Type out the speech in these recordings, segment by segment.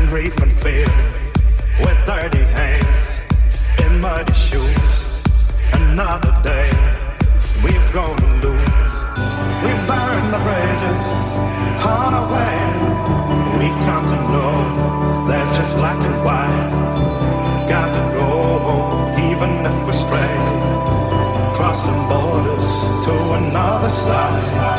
grief and fear, with dirty hands in muddy shoes. Another day we've gone to lose. We've burned the bridges on our way. We've come to know there's just black and white. Got to go even if we stray, crossing borders to another side.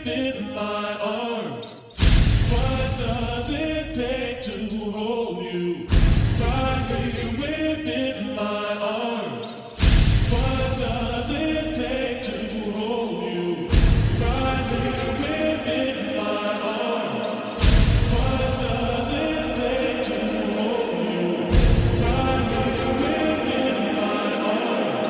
within my arms. What does it take to hold you? Right here within my arms. What does it take to hold you? Right here within my arms. What does it take to hold you? Right here within my arms.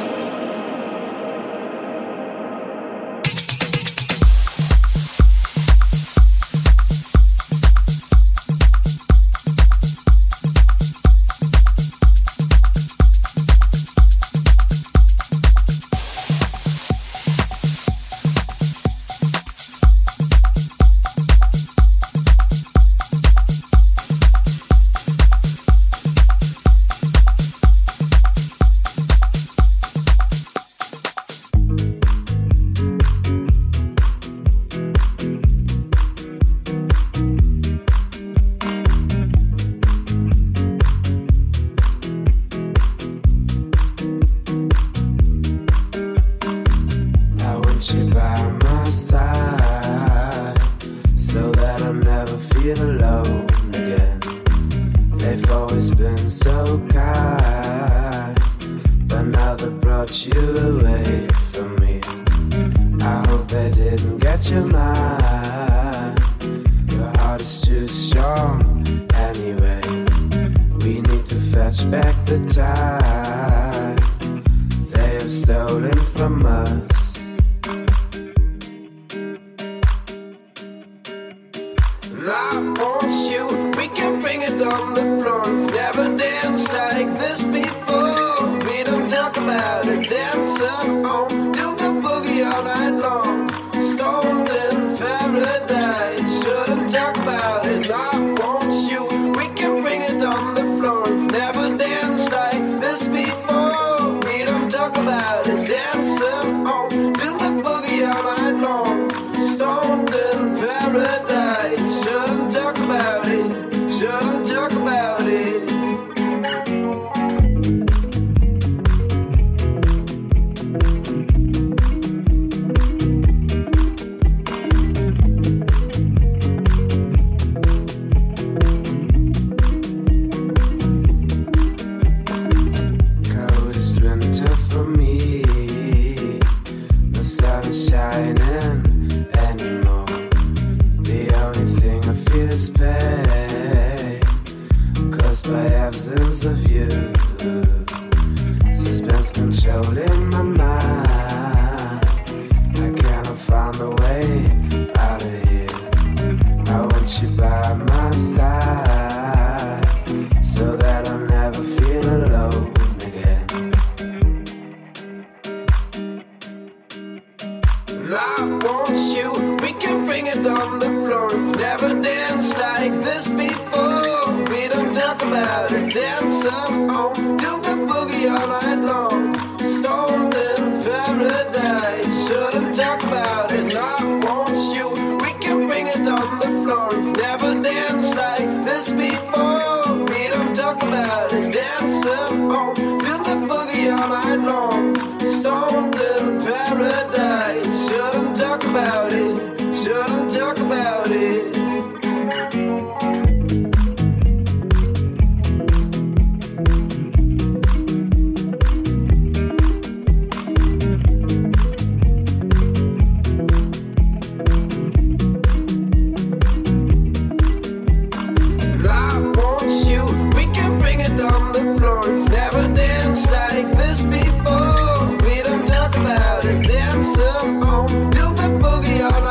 Build the boogie on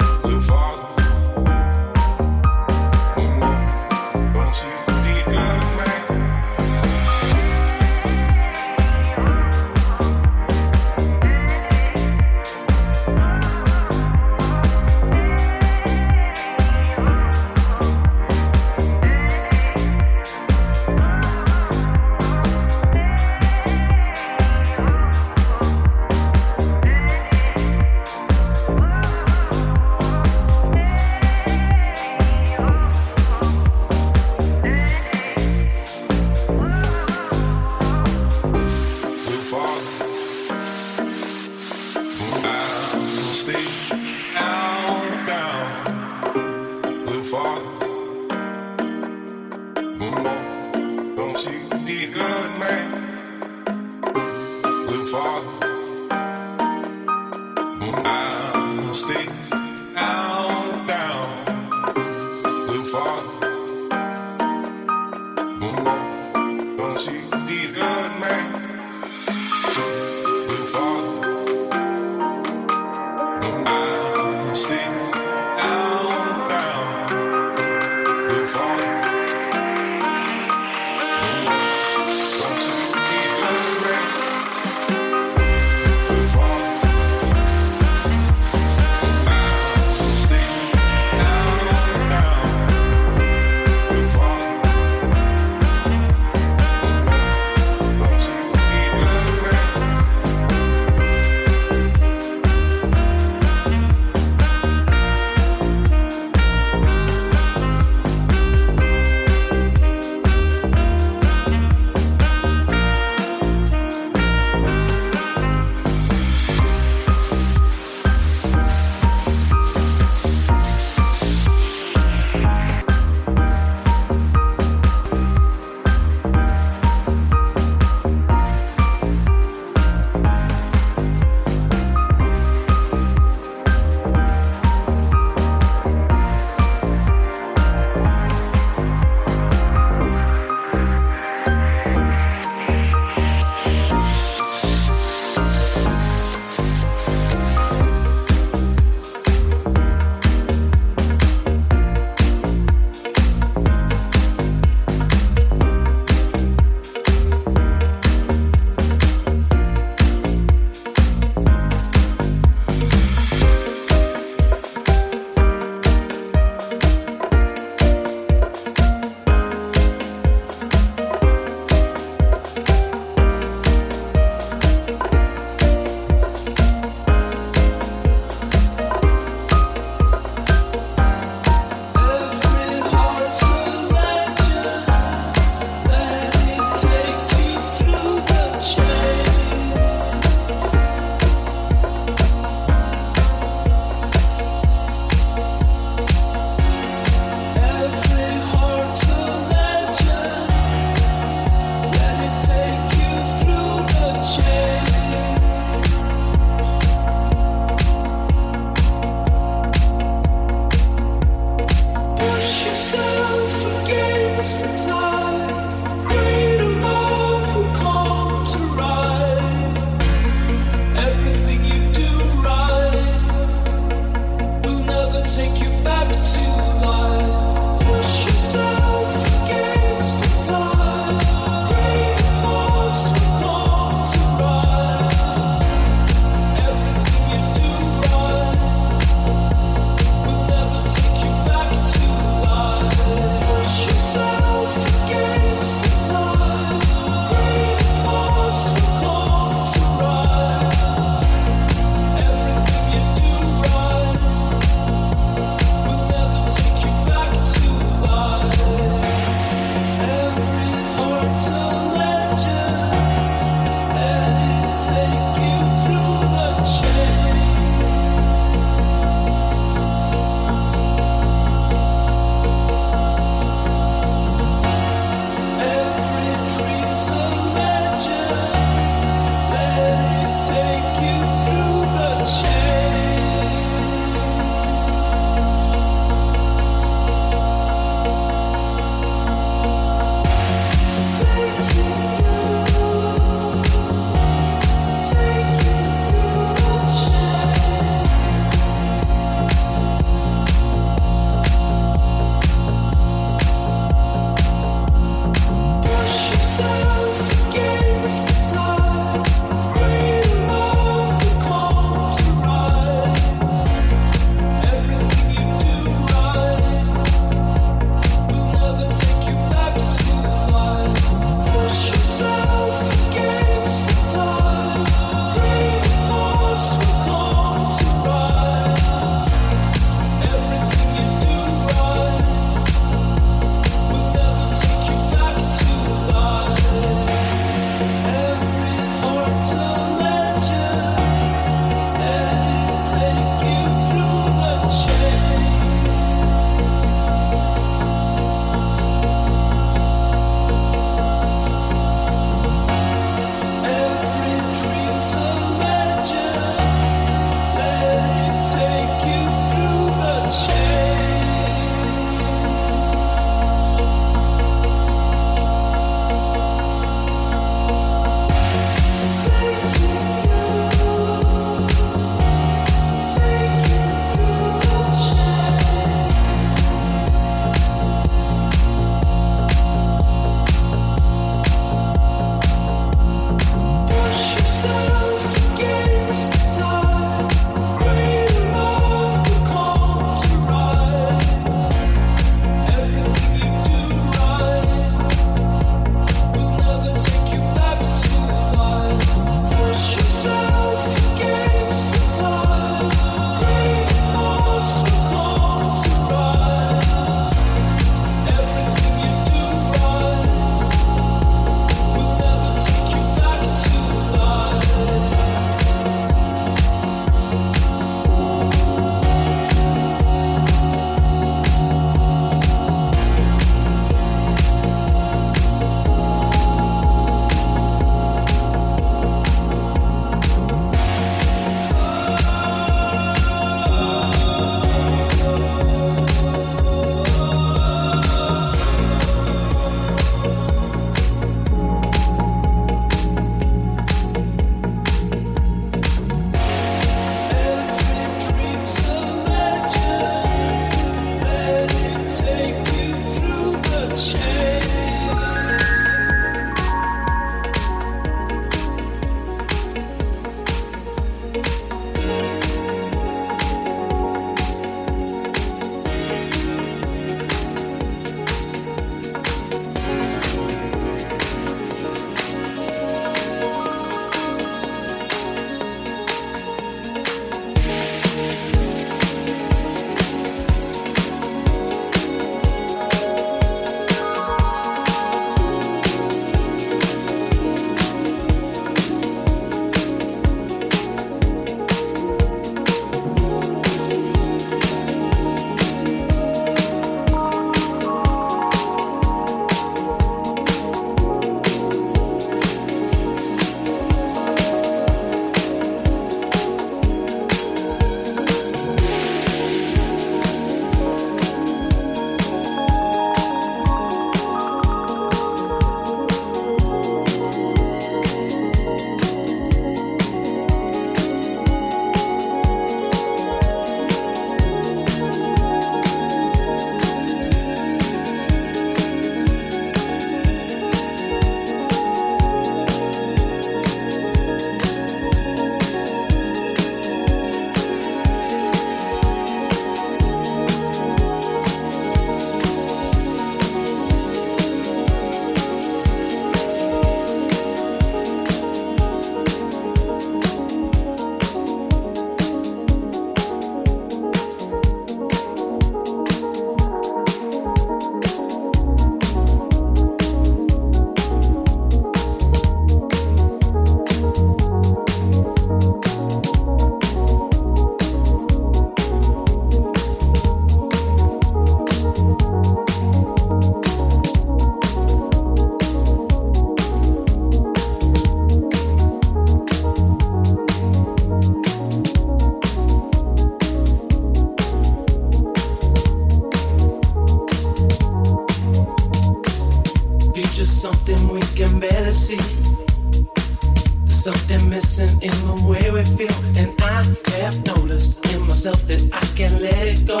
noticed in myself that I can't let it go.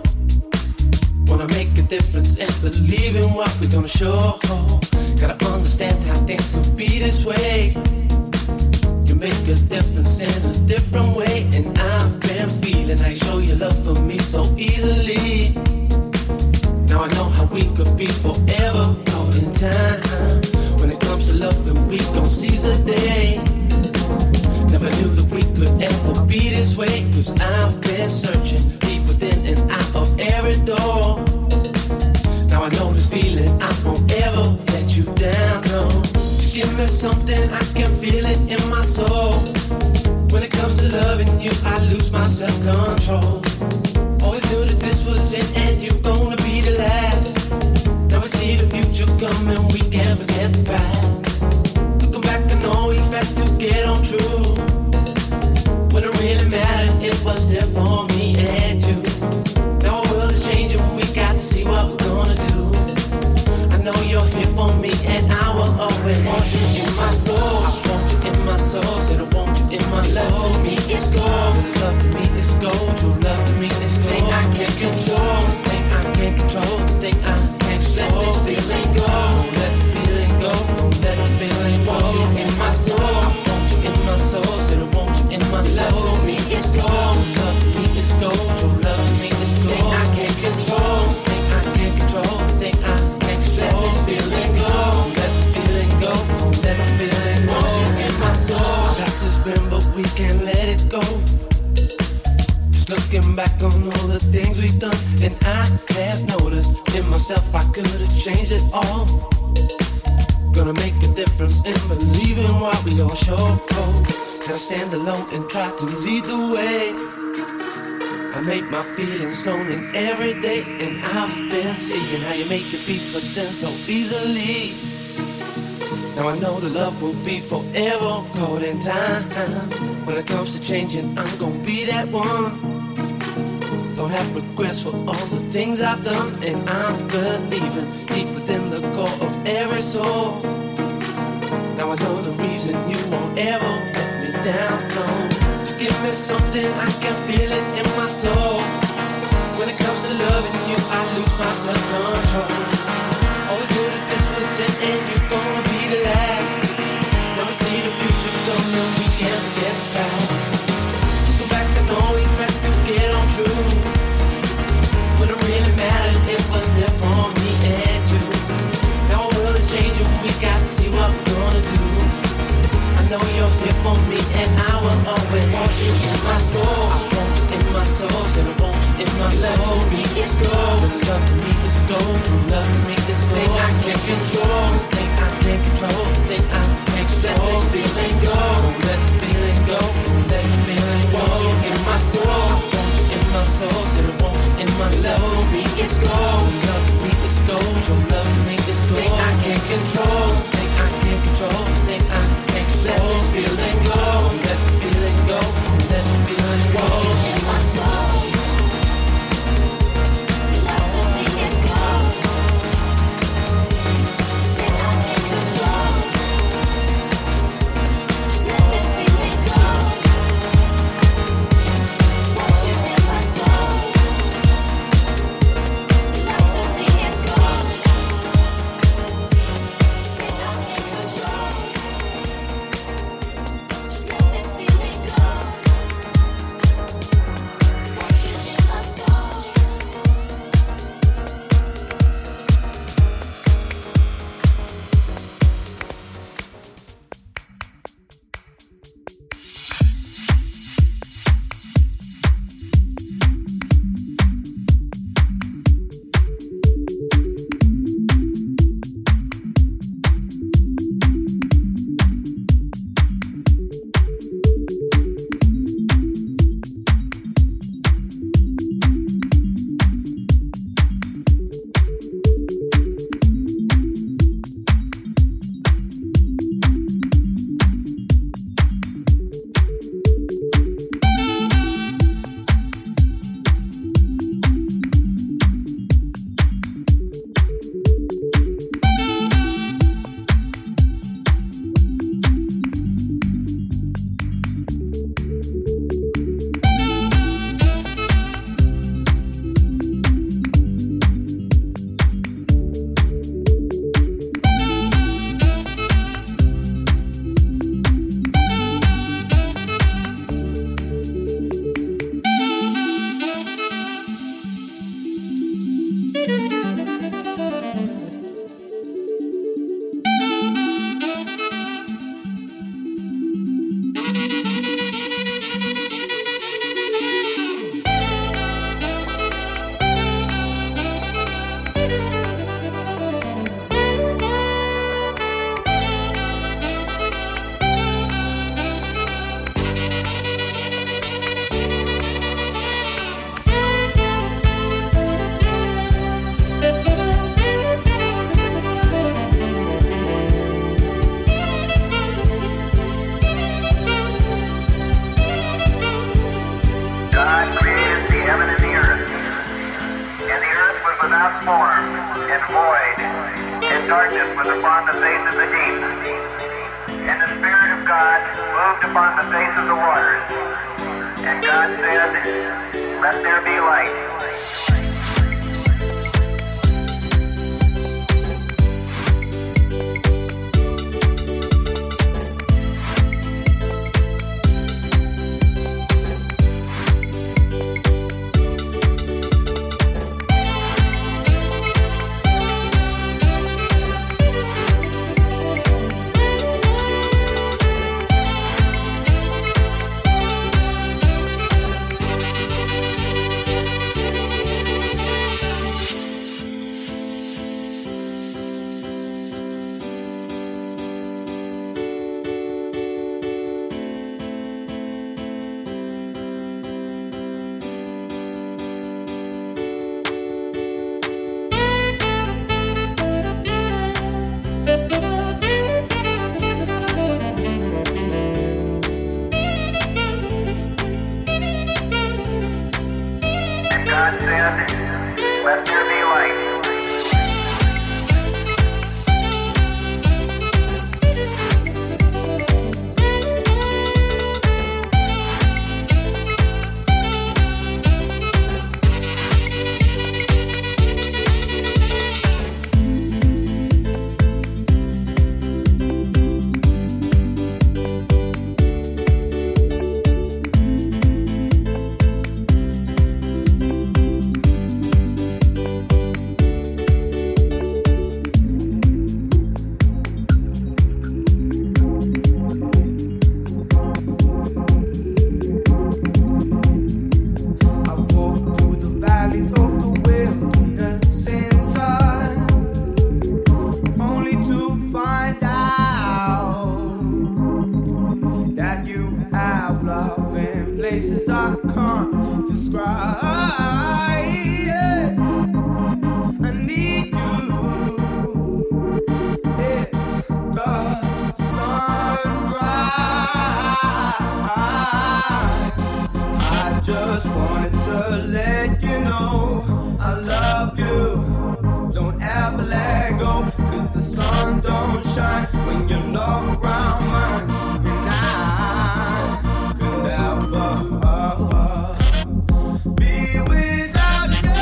Wanna make a difference and believe in what we're gonna show. Gotta understand how things could be this way. You make a difference in a different way, and I've been feeling how you show your love for me so easily. Now I know how we could be forever caught in time. When it comes to love, then we gon' seize the day. Never knew that we could ever be this way, 'cause I've been searching deep within and out of every door. Now I know this feeling, I won't ever let you down, no. You give me something, I can feel it in my soul. When it comes to loving you, I lose my self-control. Always knew that this was it and you're gonna be the last. Now we see the future coming, we can't forget the past. Looking back, I know we had to get on true. When it really mattered, it was there for me and you. Now our world is changing, we got to see what we're gonna do. I know you're here for me and I will always want you in my soul. I want you in my soul, said I want you in my soul. Love to me is gold, love to me is gold. True love to me is gold. Thing I can't control, this thing I can't control, the thing I can't control. Let this feeling go, let the feeling go, let the feeling go. I want you in my soul, I want you in my soul, said I want you in my soul. Love to me is gold, love to me is gold. True love to me is gold. Thing I can't control, this thing I can't control, the thing I can't control. Let this feeling go, let the feeling go, let the feeling go. I want you in my soul. Past has been, but we can't let it go. Just looking back on all the things we've done, and I have noticed in myself I could have changed it all. Gonna make a difference in believing what we all show. Gotta stand alone and try to lead the way. I make my feelings known in every day, and I've been seeing how you make your peace with them so easily. Now I know the love will be forever caught in time. When it comes to changing, I'm gonna be that one. Don't have regrets for all the things I've done, and I'm believing deep within the core of every soul. Now I know the reason you won't ever let me down, no. Just give me something, I can feel it in my soul. When it comes to loving you, I lose my self-control. Always knew that this was it and you're gonna be the last. Now we see the future coming, we can't forget the past. Go back, I know we had to get on true. When it really mattered, it was there for me and you. Now our world is changing, we got to see what we're gonna do. I know you're here for me and I will always want you in my soul. I want you in my soul, said I want you in my soul. Love to me is gold, love to me is gold. True love to me is gold. Thing I can't control, this thing I can't control, the thing I can't control. Let this feeling go, let the feeling go, let the feeling go. I want you in my soul, I want you in my soul, said I want you in my soul. Love to me is gold, love to me is gold. True love to me is gold. Thing I can't control, this thing I can't control, the thing I can't control. Let this feeling go, let the feeling go, let the feeling go. I want you in my soul. Love to me is gold. Thing I can't control. heaven and the earth. And the earth was without form and void, and darkness was upon the face of the deep. And the Spirit of God moved upon the face of the waters. And God said, "Let there be light." God said, "Let there be light." Places I can't describe. Yeah. I need you. It's the sunrise. I just wanted to let you know I love you. Don't ever let go, 'cause the sun don't shine when you're not around mine. And I could never be without you.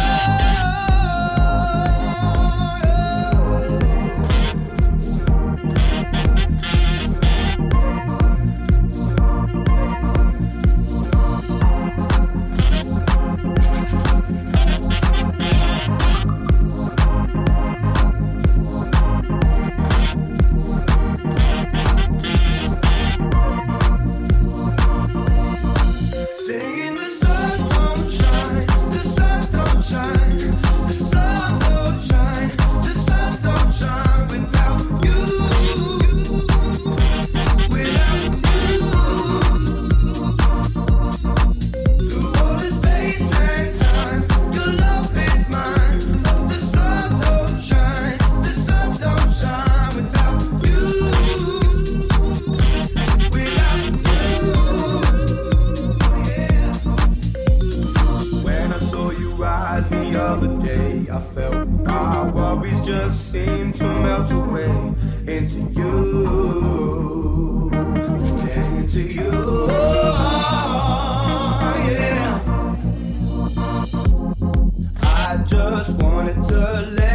Singing the sun don't shine, the sun don't shine, the sun don't shine, the sun don't shine without you, without you. Through all the space and time, your love is mine. The sun don't shine without you, without you. When I saw you rise the other day, I felt our worries just seem to melt away into you, into you. Yeah. I just wanted to let